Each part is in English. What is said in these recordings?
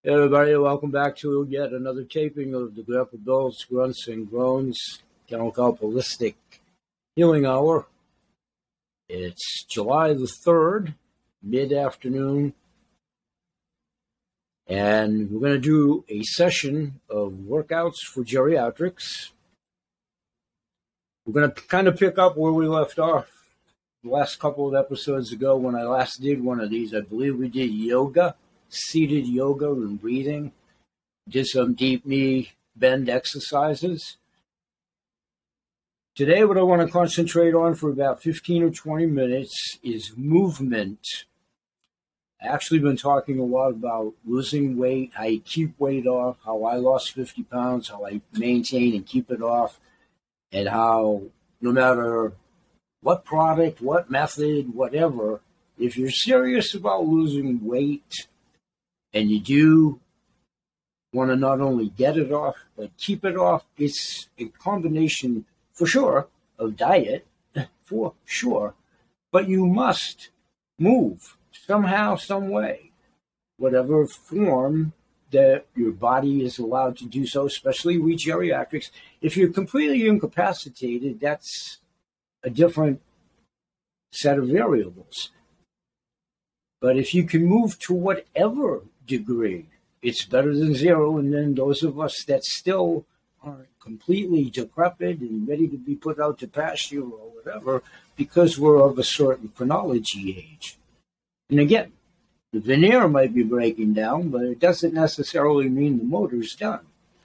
Hey everybody, welcome back to yet another taping of the Grandpa Bill's Grunts and Groans Chemical Holistic Healing Hour. It's July the 3rd, mid-afternoon, and we're going to do a session of workouts for geriatrics. We're going to kind of pick up where we left off the last couple of episodes ago when I last did one of these. I believe we did yoga. Seated yoga and breathing, did some deep knee bend exercises. Today, what I want to concentrate on for about 15 or 20 minutes is movement. I've actually been talking a lot about losing weight, how you keep weight off, how I lost 50 pounds, how I maintain and keep it off, and how no matter what product, what method, whatever, if you're serious about losing weight, and you do want to not only get it off, but keep it off, it's a combination, for sure, of diet, for sure, but you must move somehow, some way, whatever form that your body is allowed to do so, especially we geriatrics. If you're completely incapacitated, that's a different set of variables. But if you can move to whatever degree, it's better than zero. And then those of us that still aren't completely decrepit and ready to be put out to pasture or whatever, because we're of a certain chronology age. And again, the veneer might be breaking down, but it doesn't necessarily mean the motor's done.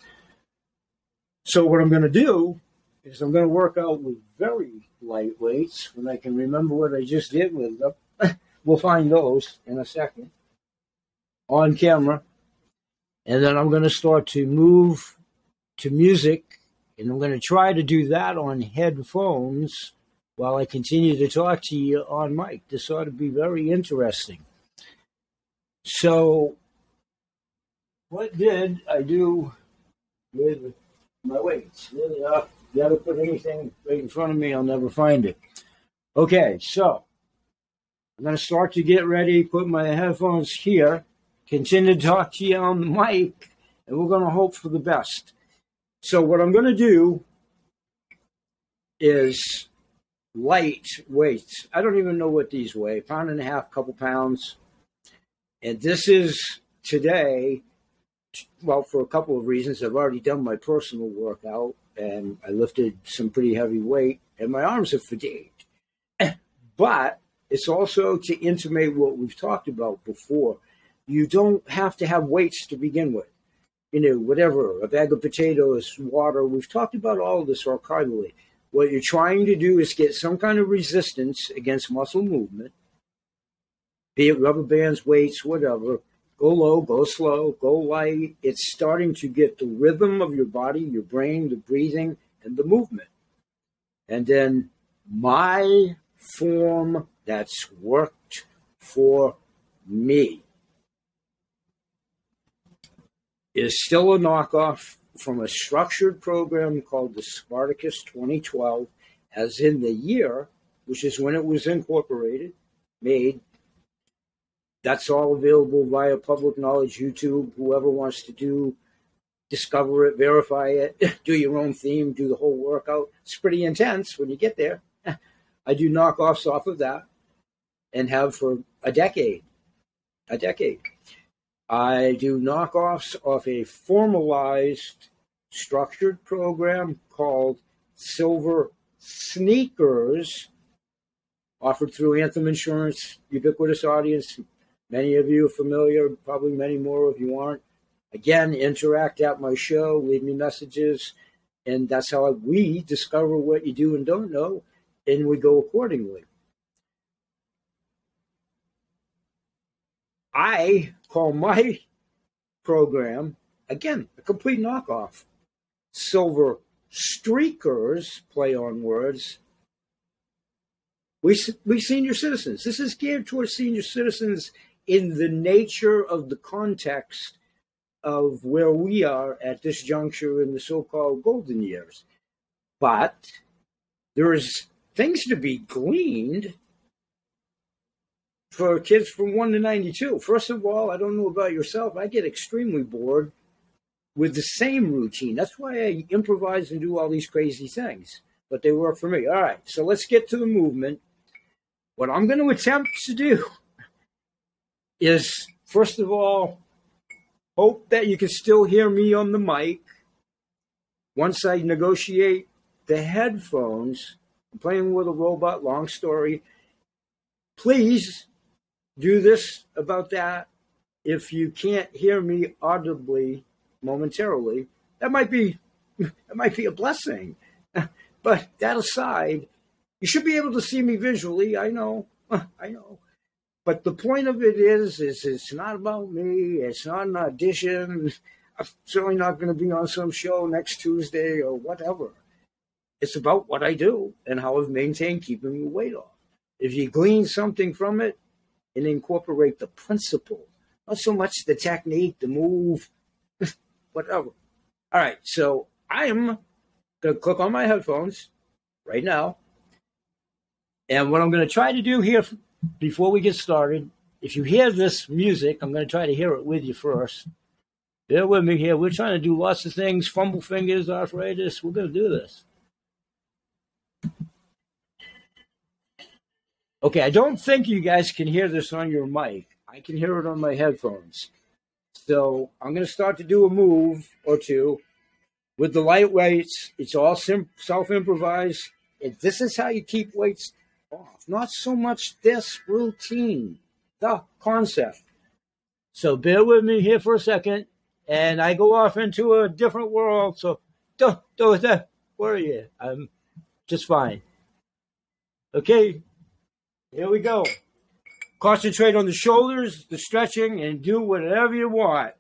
So what I'm going to do is I'm going to work out with very light weights when I can remember what I just did with them. We'll find those in a second on camera. And then I'm going to start to move to music. And I'm going to try to do that on headphones while I continue to talk to you on mic. This ought to be very interesting. So what did I do with my weights? Really, you ever put anything right in front of me, I'll never find it. Okay, so I'm going to start to get ready, put my headphones here, continue to talk to you on the mic, and we're going to hope for the best. So what I'm going to do is light weights. I don't even know what these weigh, 1.5 pounds, couple pounds. And this is today, well, for a couple of reasons. I've already done my personal workout, and I lifted some pretty heavy weight, and my arms are fatigued. But it's also to intimate what we've talked about before. You don't have to have weights to begin with. Whatever, a bag of potatoes, water. We've talked about all of this archivally. What you're trying to do is get some kind of resistance against muscle movement, be it rubber bands, weights, whatever. Go low, go slow, go light. It's starting to get the rhythm of your body, your brain, the breathing, and the movement. And then my form that's worked for me is still a knockoff from a structured program called the Spartacus 2012, as in the year, which is when it was incorporated, made. That's all available via public knowledge, YouTube. Whoever wants to discover it, verify it, do your own theme, do the whole workout. It's pretty intense when you get there. I do knockoffs off of that and have for a decade. I do knockoffs off a formalized, structured program called Silver Sneakers, offered through Anthem Insurance, ubiquitous audience. Many of you are familiar, probably many more of you aren't. Again, interact at my show, leave me messages, and that's how we discover what you do and don't know, and we go accordingly. I call my program, again, a complete knockoff. Silver Streakers, play on words. We senior citizens. This is geared towards senior citizens in the nature of the context of where we are at this juncture in the so-called golden years. But there is things to be gleaned for kids from 1 to 92. First of all, I don't know about yourself. I get extremely bored with the same routine. That's why I improvise and do all these crazy things. But they work for me. All right, so let's get to the movement. What I'm going to attempt to do is, first of all, hope that you can still hear me on the mic. Once I negotiate the headphones, I'm playing with a robot, long story. Please do this about that. If you can't hear me audibly momentarily, that might be a blessing. But that aside, you should be able to see me visually. I know. But the point of it is it's not about me. It's not an audition. I'm certainly not going to be on some show next Tuesday or whatever. It's about what I do and how I've maintained keeping the weight off. If you glean something from it and incorporate the principle, not so much the technique, the move, whatever. All right, so I'm going to click on my headphones right now. And what I'm going to try to do here before we get started, if you hear this music, I'm going to try to hear it with you first. Bear with me here. We're trying to do lots of things, fumble fingers, arthritis. We're going to do this. Okay, I don't think you guys can hear this on your mic. I can hear it on my headphones. So I'm going to start to do a move or two with the light weights. It's all self-improvised. This is how you keep weights off. Not so much this routine, the concept. So bear with me here for a second. And I go off into a different world. So don't worry. I'm just fine. Okay. Here we go. Concentrate on the shoulders, the stretching, and do whatever you want.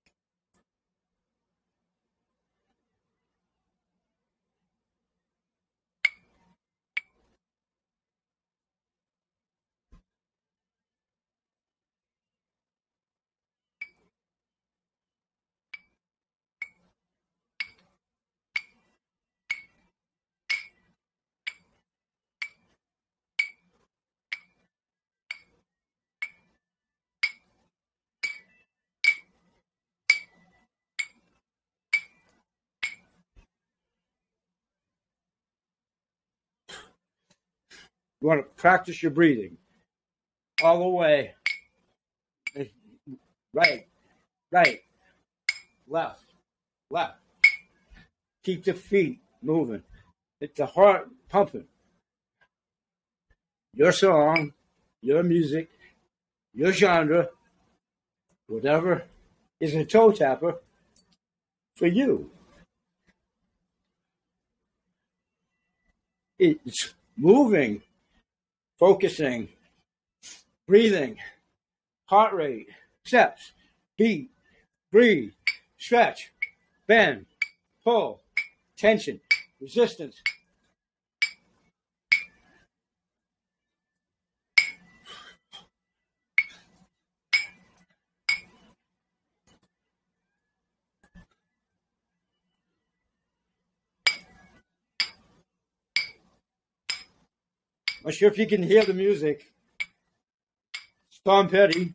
You want to practice your breathing all the way. Right, left. Keep the feet moving. Get the heart pumping. Your song, your music, your genre, whatever is a toe tapper for you. It's moving, focusing, breathing, heart rate, steps, beat, breathe, stretch, bend, pull, tension, resistance. Not sure if you can hear the music. Tom Petty.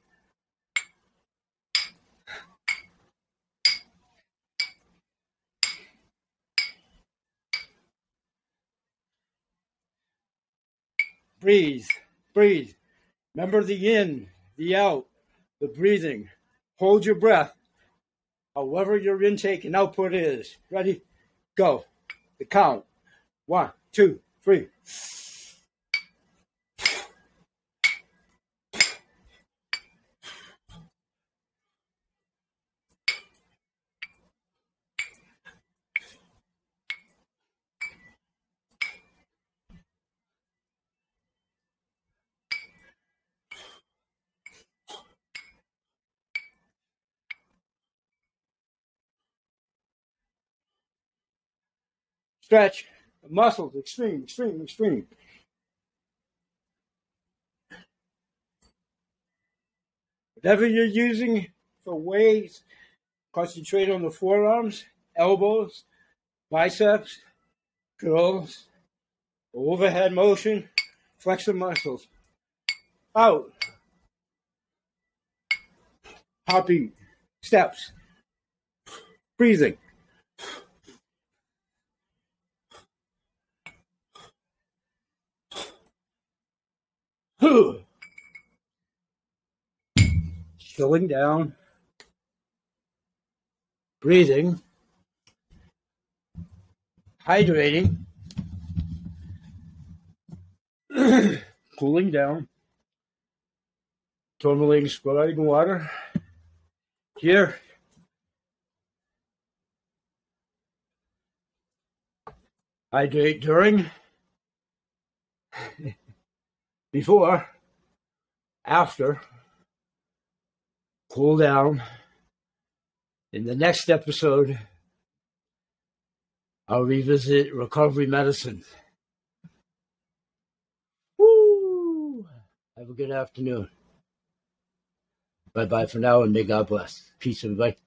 Breathe. Remember the in, the out, the breathing. Hold your breath, however your intake and output is. Ready? Go. The count. 1, 2, 3. Stretch. Muscles. Extreme. Whatever you're using for weights, concentrate on the forearms, elbows, biceps, curls, overhead motion, flex the muscles. Out, heartbeat, steps, breathing. Chilling down, breathing, hydrating, cooling down, tourmaline spreading water. Here, hydrate during, before, after, cool down. In the next episode, I'll revisit recovery medicine. Woo! Have a good afternoon. Bye-bye for now, and may God bless. Peace, everybody.